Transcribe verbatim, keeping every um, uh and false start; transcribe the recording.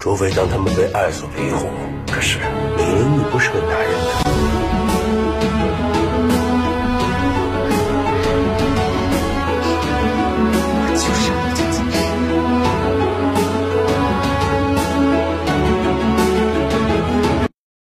除非当他们被爱所迷惑。可是，明明你不是个男人。